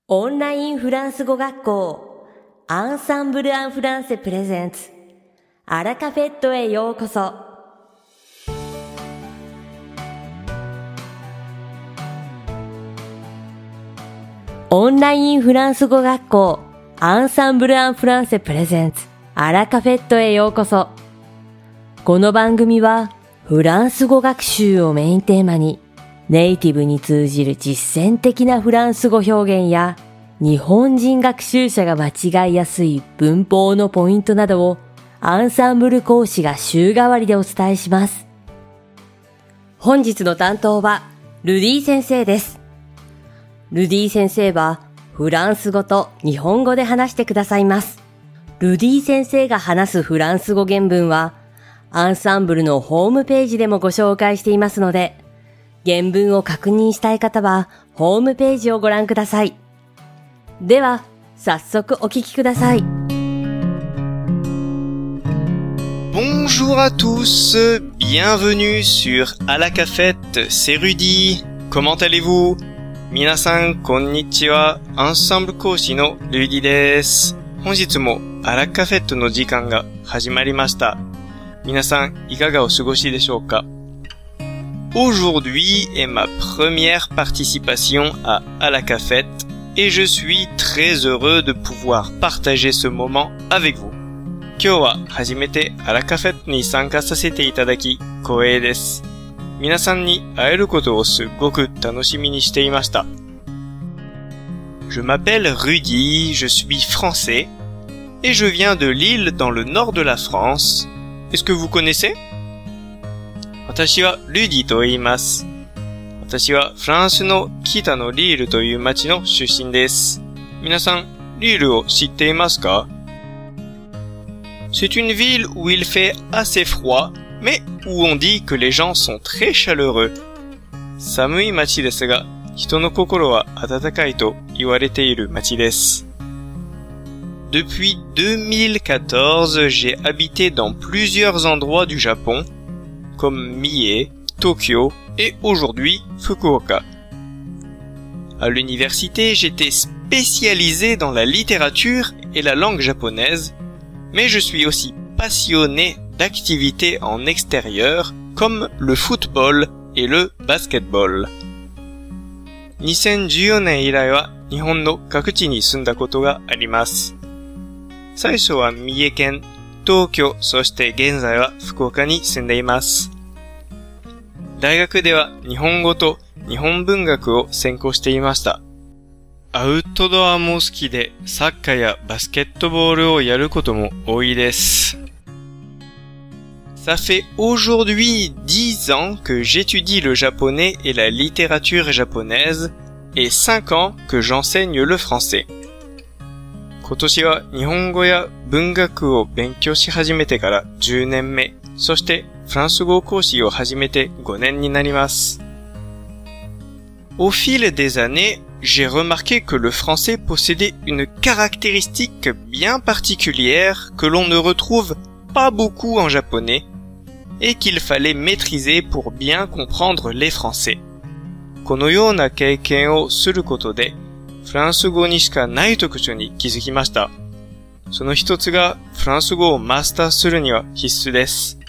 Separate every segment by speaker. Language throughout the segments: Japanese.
Speaker 1: オンラインフランス語学校アンサンブル・アン・フランセプレゼンツアラカフェットへようこそ。オンラインフランス語学校アンサンブル・アン・フランセプレゼンツアラカフェットへようこそ。この番組はフランス語学習をメインテーマにネイティブに通じる実践的なフランス語表現や日本人学習者が間違いやすい文法のポイントなどをアンサンブル講師が週替わりでお伝えします。本日の担当はルディ先生です。ルディ先生はフランス語と日本語で話してくださいます。ルディ先生が話すフランス語原文はアンサンブルのホームページでもご紹介していますので、原文を確認したい方はホームページをご覧ください。では、早速お聞きください。
Speaker 2: Bonjour à tous, bienvenue sur À la Cafette, c'est Rudy. Comment allez-vous? 皆さんこんにちは、アンサンブル講師のルディです。本日もアラカフェットの時間が始まりました。皆さんいかがお過ごしでしょうか？ Aujourd'hui est ma première participation à la cafette et je suis très heureux de pouvoir partager ce moment avec vous. 今日は初めてあらカフェットに参加させていただき光栄です。皆さんに会えることをすごく楽しみにしていました。Je m'appelle Rudy, je suis français et je viens de Lille dans le nord de la France. Est-ce que vous connaissez? 私はルディと言います。私はフランスの北のリールという町の出身です。皆さん、リールを知っていますか？ C'est une ville où il fait assez froid, mais où on dit que les gens sont très chaleureux. 寒い町ですが、人の心は温かいと言われている町です。Depuis 2014, j'ai habité dans plusieurs endroits du Japon,comme Mie, Tokyo et aujourd'hui Fukuoka. À l'université, j'étais spécialisé dans la littérature et la langue japonaise, mais je suis aussi passionné d'activités en extérieur comme le football et le basketball. 2014年以来は日本の各地に住んだことがあります。最初は三重県、東京、そして現在は福岡に住んでいます。大学では日本語と日本文学を専攻していました。アウトドアも好きでサッカーやバスケットボールをやることも多いです。Ça fait aujourd'hui 10 ans que j'étudie le japonais et la littérature japonaise et 5 ans que j'enseigne le français.今年は日本語や文学を勉強し始めてから10年目、そしてフランス語講師を始めて5年になります。Au fil des années, j'ai remarqué que le français possédait une caractéristique bien particulière que l'on ne retrouve pas beaucoup en japonais et qu'il fallait maîtriser pour bien comprendre les français. このような経験をすることでフランス語にしかない特徴に気づきました。その一つがフランス語をマスターするには必須です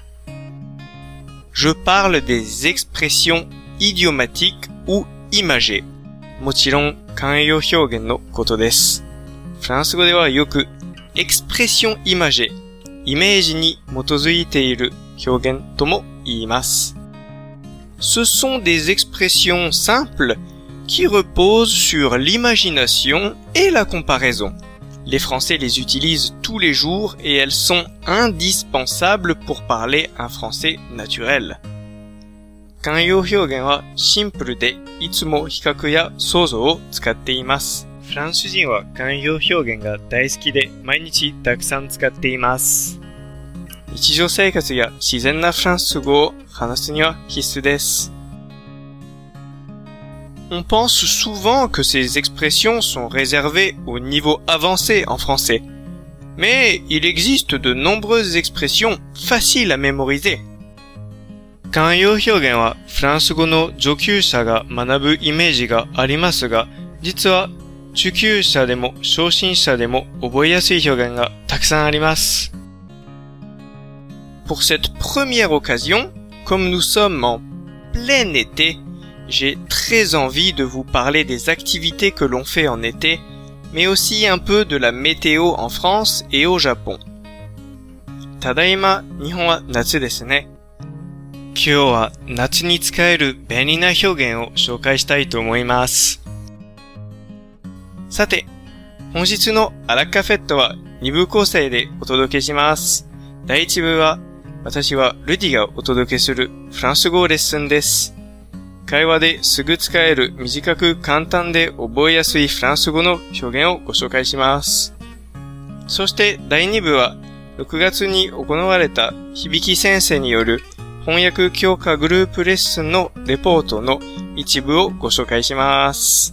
Speaker 2: 。Je parle des expressions idiomatiques ou imagées. もちろん慣用表現のことです。フランス語ではよく expression imagée、イメージに基づいている表現とも言います。Ce sont des expressions simples,qui repose sur l'imagination et la comparaison. Les Français les utilisent tous les jours et elles sont indispensables pour parler un français naturel. 慣用表現はシンプルでいつも比較や想像を使っています。フランス人は慣用表現が大好きで毎日たくさん使っています。日常生活や自然なフランス語を話すには必須です。On pense souvent que ces expressions sont réservées au niveau avancé en français. Mais il existe de nombreuses expressions faciles à mémoriser. 慣用表現はフランス語の上級者が学ぶイメージがありますが、実は中級者でも初心者でも覚えやすい表現がたくさんあります。Pour cette première occasion, comme nous sommes en plein été, j'ai très envie de vous parler des activités que l'on fait en été, mais aussi un peu de la météo en France et au Japon. ただいま、日本は夏ですね。今日は夏に使える便利な表現を紹介したいと思います。さて、本日のアラカフェットは2部構成でお届けします。第1部は、私はルディがお届けするフランス語レッスンです。会話ですぐ使える短く簡単で覚えやすいフランス語の表現をご紹介します。そして第2部は、6月に行われた響先生による翻訳強化グループレッスンのレポートの一部をご紹介します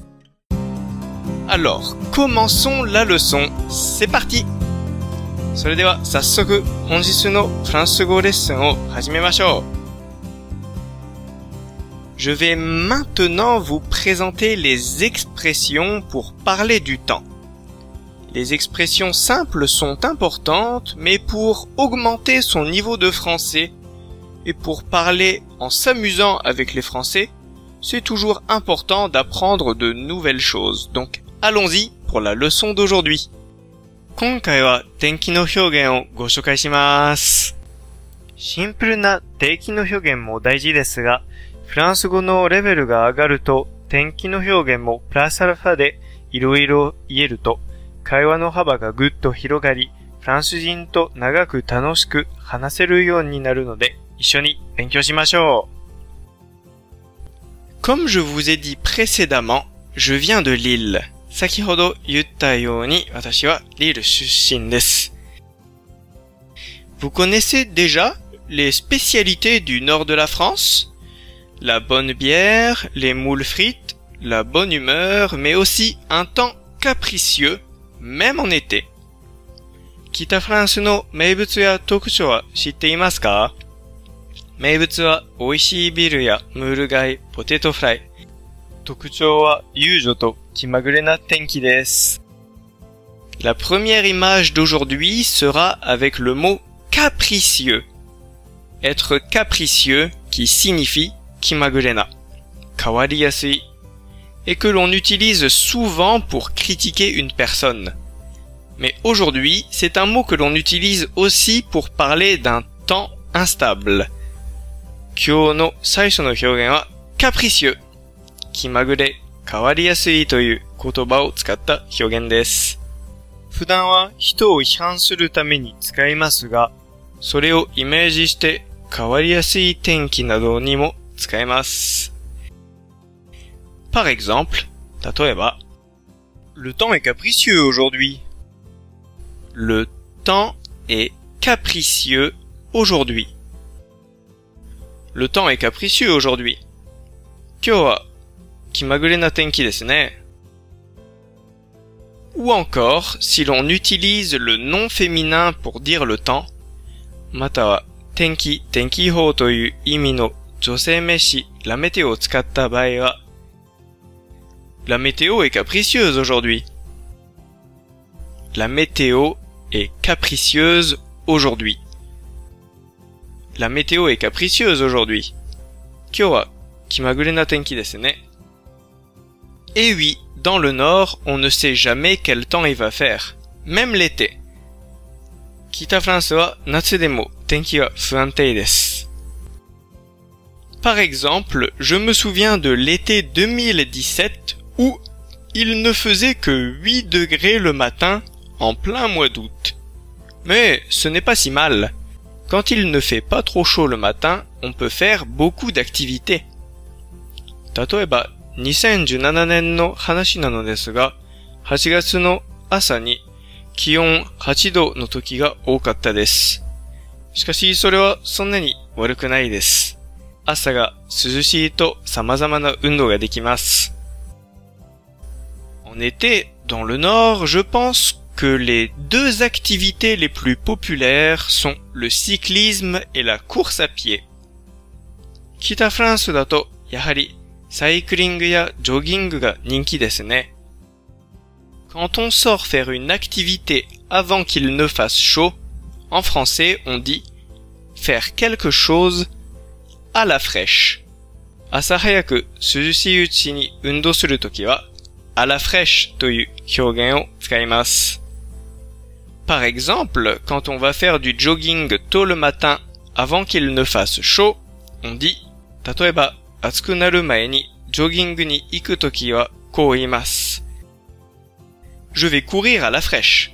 Speaker 2: 。Alors, commençons la leçon. C'est parti! それでは早速本日のフランス語レッスンを始めましょう。Je vais maintenant vous présenter les expressions pour parler du temps. Les expressions simples sont importantes, mais pour augmenter son niveau de français et pour parler en s'amusant avec les Français, c'est toujours important d'apprendre de nouvelles choses. Donc, allons-y pour la leçon d'aujourd'hui. 今回は天気の表現をご紹介します。シンプルな定期の表現も大事ですが、フランス語のレベルが上がると天気の表現もプラスアルファでいろいろ言えると会話の幅がぐっと広がり、フランス人と長く楽しく話せるようになるので一緒に勉強しましょう。Comme je vous ai dit précédemment, je viens de Lille. 先ほど言ったように私はリル出身です。Vous connaissez déjà les spécialités du nord de la France? La bonne bière, les moules frites, la bonne humeur, mais aussi un temps capricieux, même en été. 北フランスの名物や特徴は知っていますか？名物は美味しいビールやムール貝、ポテトフライ。特徴は遊女と気まぐれな天気です。La première image d'aujourd'hui sera avec le mot capricieux. Être capricieux qui signifie 気まぐれな、変わりやすい, et que l'on utilise souvent pour critiquer une personne. Mais aujourd'hui, c'est un mot que l'on utilise aussi pour parler d'un temps instable. 今日の最初の表現は capricieux. 気まぐれ、変わりやすいという言葉を使った表現です。普段は人を批判するために使いますが、それをイメージして変わりやすい天気などにも使えます。Par exemple, 例えば、Le temps est capricieux aujourd'hui. Le temps est capricieux aujourd'hui. Le temps est capricieux aujourd'hui. 今日は気まぐれな天気ですね。Ou encore, si l'on utilise le nom féminin pour dire le temps, または天気、天気予報という意味の女性名詞、la météo を使った場合は、La météo est capricieuse aujourd'hui. La météo est capricieuse aujourd'hui. La météo est capricieuse aujourd'hui. 今日は気まぐれな天気ですね。Et oui, dans le nord, on ne sait jamais quel temps il va faire. Même l'été. 北フランスは夏でも天気は不安定です。Par exemple, je me souviens de l'été 2017 où il ne faisait que 8 degrés le matin en plein mois d'août. Mais ce n'est pas si mal. Quand il ne fait pas trop chaud le matin, on peut faire beaucoup d'activités. 例えば、2017年の話なのですが、8月の朝に気温8度の時が多かったです。しかしそれはそんなに悪くないです。朝が涼しいと様々な運動ができます。En été, dans le nord, je pense que les deux activités les plus populaires sont le cyclisme et la course à pied. 北フランスだとやはりサイクリングやジョギングが人気ですね。 Quand on sort faire une activité avant qu'il ne fasse chaud, en français on dit faire quelque chose à la fraîche. 朝早く涼しいうちに運動するときは、à la fraîche という表現を使います。Par exemple, quand on va faire du jogging tôt le matin avant qu'il ne fasse chaud, on dit 例えば暑くなる前にジョギングに行くときはこう言います。Je vais courir à la fraîche.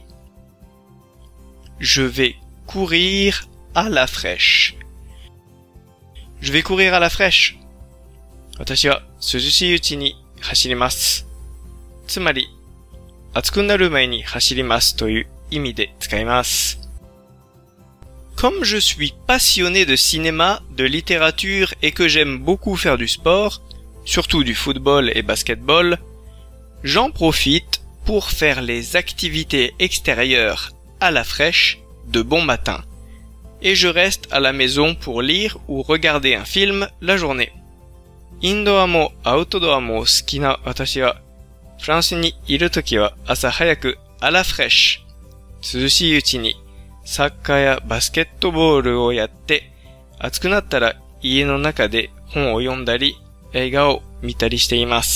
Speaker 2: Je vais courir à la fraîche. Je vais courir à la fraîche. 私は涼しいうちに走ります。つまり、暑くなる前に走りますという意味で使います。Comme je suis passionné de cinéma, de littérature et que j'aime beaucoup faire du sport, surtout du football et basketball, j'en profite pour faire les activités extérieures à la fraîche de bon matin. Et je reste à la maison pour lire ou regarder un film la journée. インドアもアウトドアも好きな私は、フランスにいるときは朝早くà la fraîche、涼しいうちにサッカーやバスケットボールをやって、暑くなったら家の中で本を読んだり、映画を見たりしています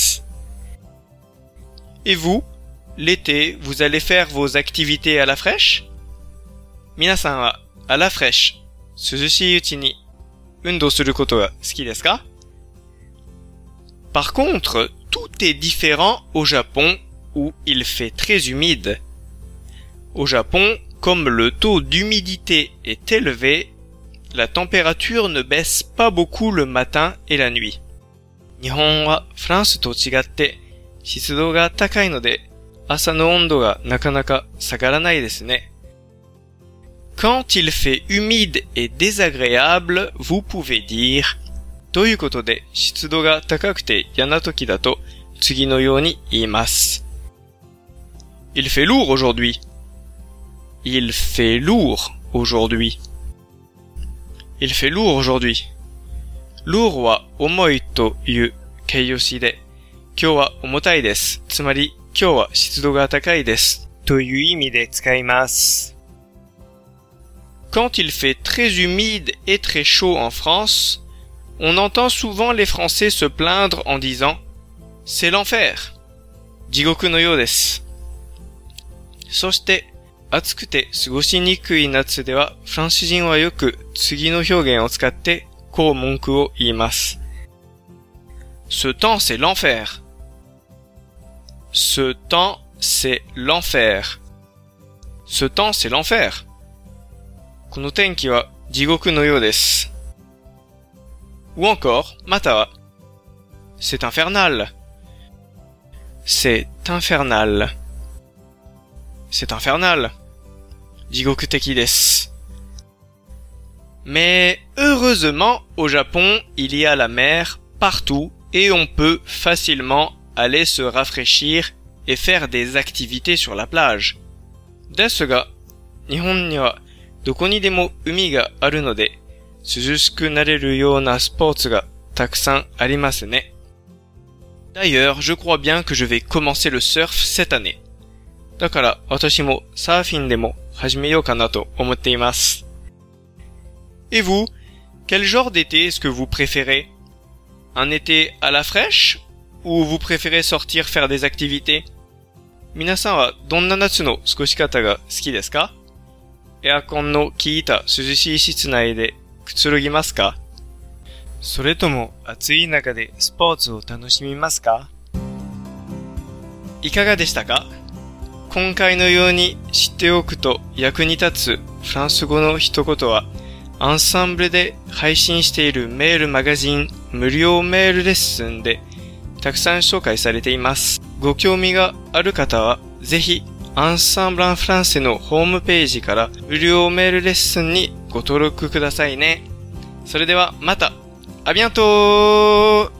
Speaker 2: 。Et vous, l'été, vous allez faire vos activités à la fraîche? 皆さんはà la fraîche、涼しいうちに運動することが好きですか？ Par contre, tout est différent au Japon où il fait très humide. Au Japon, comme le taux d'humidité est élevé, la température ne baisse pas beaucoup le matin et la nuit. 日本はフランスと違って湿度が高いので朝の温度がなかなか下がらないですね。Quand il fait humide et désagréable, vous pouvez dire ということで湿度が高くて嫌な時だと次のように言います。Il fait lourd aujourd'hui. Il fait lourd aujourd'hui. Il fait lourd aujourd'hui. lourd は重いという形容詞で、今日は重たいです。つまり今日は湿度が高いですという意味で使います。Quand il fait très humide et très chaud en France, on entend souvent les Français se plaindre en disant « C'est l'enfer !» 地獄のようです。そして、暑くて過ごしにくい夏では、フランス人はよく次の表現を使ってこう文句を言います。Ce temps c'est l'enfer. Ce temps c'est l'enfer. Ce temps c'est l'enfer. この天気は地獄のようです。Ou encore, または C'est infernal. C'est infernal. C'est infernal. 地獄的です。Mais heureusement, au Japon, il y a la mer partout et on peut facilement aller se rafraîchir et faire des activités sur la plage. ですが、日本にはどこにでも海があるので、涼しくなれるようなスポーツがたくさんありますね。D'ailleurs, je crois bien que je vais commencer le surf cette année. だから私もサーフィンでも始めようかなと思っています。Et vous, quel genre d'été est-ce que vous préférez? Un été à la fraîche ou vous préférez sortir faire des activités? 皆さんはどんな夏の過ごし方が好きですか？エアコンの効いた涼しい室内でくつろぎますか？それとも暑い中でスポーツを楽しみますか？いかがでしたか？今回のように知っておくと役に立つフランス語の一言はアンサンブルで配信しているメールマガジン無料メールレッスンでたくさん紹介されています。ご興味がある方はぜひアンサンブランフランセのホームページから無料メールレッスンにご登録くださいね。それではまた。あびゃんと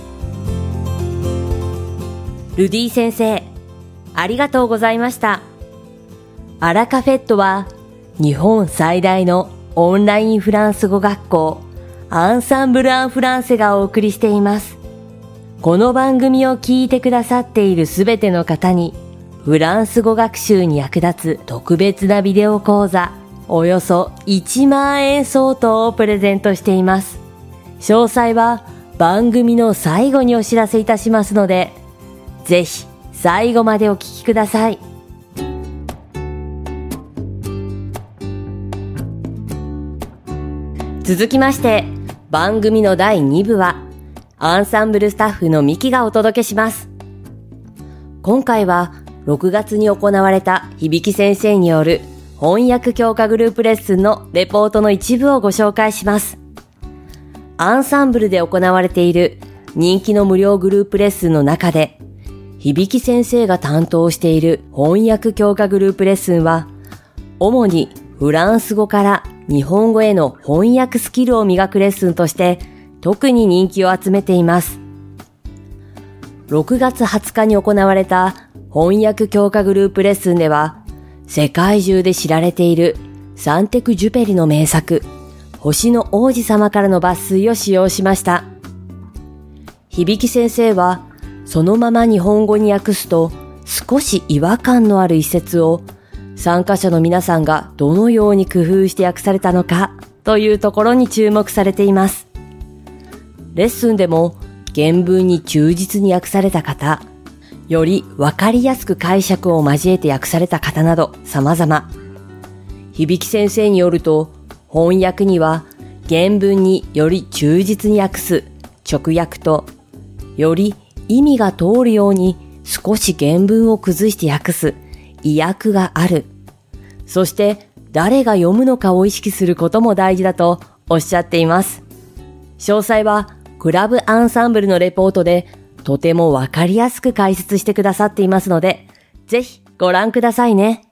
Speaker 1: ルディ先生、ありがとうございました。アラカフェットは日本最大のオンラインフランス語学校アンサンブル・アン・フランセがお送りしています。この番組を聞いてくださっているすべての方にフランス語学習に役立つ特別なビデオ講座、およそ1万円相当をプレゼントしています。詳細は番組の最後にお知らせいたしますので、ぜひ最後までお聞きください。続きまして、番組の第2部は、アンサンブルスタッフのミキがお届けします。今回は、6月に行われた響先生による翻訳強化グループレッスンのレポートの一部をご紹介します。アンサンブルで行われている人気の無料グループレッスンの中で、響先生が担当している翻訳強化グループレッスンは、主にフランス語から日本語への翻訳スキルを磨くレッスンとして特に人気を集めています。6月20日に行われた翻訳強化グループレッスンでは、世界中で知られているサンテク・ジュペリの名作、星の王子様からの抜粋を使用しました。響先生は、そのまま日本語に訳すと少し違和感のある一節を参加者の皆さんがどのように工夫して訳されたのかというところに注目されています。レッスンでも原文に忠実に訳された方、よりわかりやすく解釈を交えて訳された方など様々。響先生によると、翻訳には原文により忠実に訳す直訳と、より意味が通るように少し原文を崩して訳す意訳がある。そして誰が読むのかを意識することも大事だとおっしゃっています。詳細はクラブアンサンブルのレポートでとてもわかりやすく解説してくださっていますので、ぜひご覧くださいね。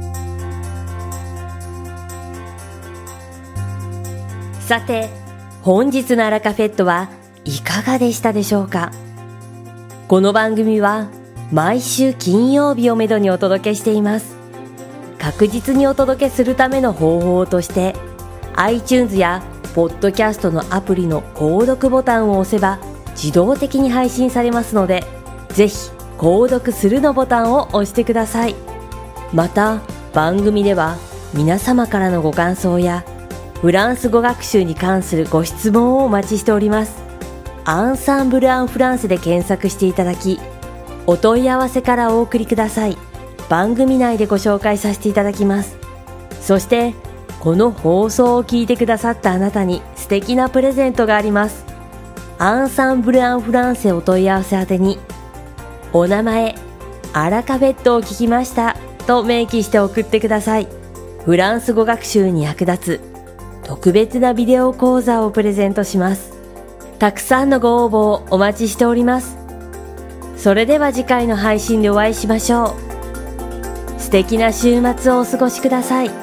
Speaker 1: さて、本日のアラカフェットはいかがでしたでしょうか。この番組は毎週金曜日をめどにお届けしています。確実にお届けするための方法として、iTunes やポッドキャストのアプリの購読ボタンを押せば自動的に配信されますので、ぜひ購読するのボタンを押してください。また、番組では皆様からのご感想やフランス語学習に関するご質問をお待ちしております。アンサンブル・アン・フランセで検索していただき、お問い合わせからお送りください。番組内でご紹介させていただきます。そして、この放送を聞いてくださったあなたに素敵なプレゼントがあります。アンサンブル・アン・フランセお問い合わせ宛てに、お名前、アラカフェットを聞きましたと明記して送ってください。フランス語学習に役立つ特別なビデオ講座をプレゼントします。たくさんのご応募をお待ちしております。それでは次回の配信でお会いしましょう。素敵な週末をお過ごしください。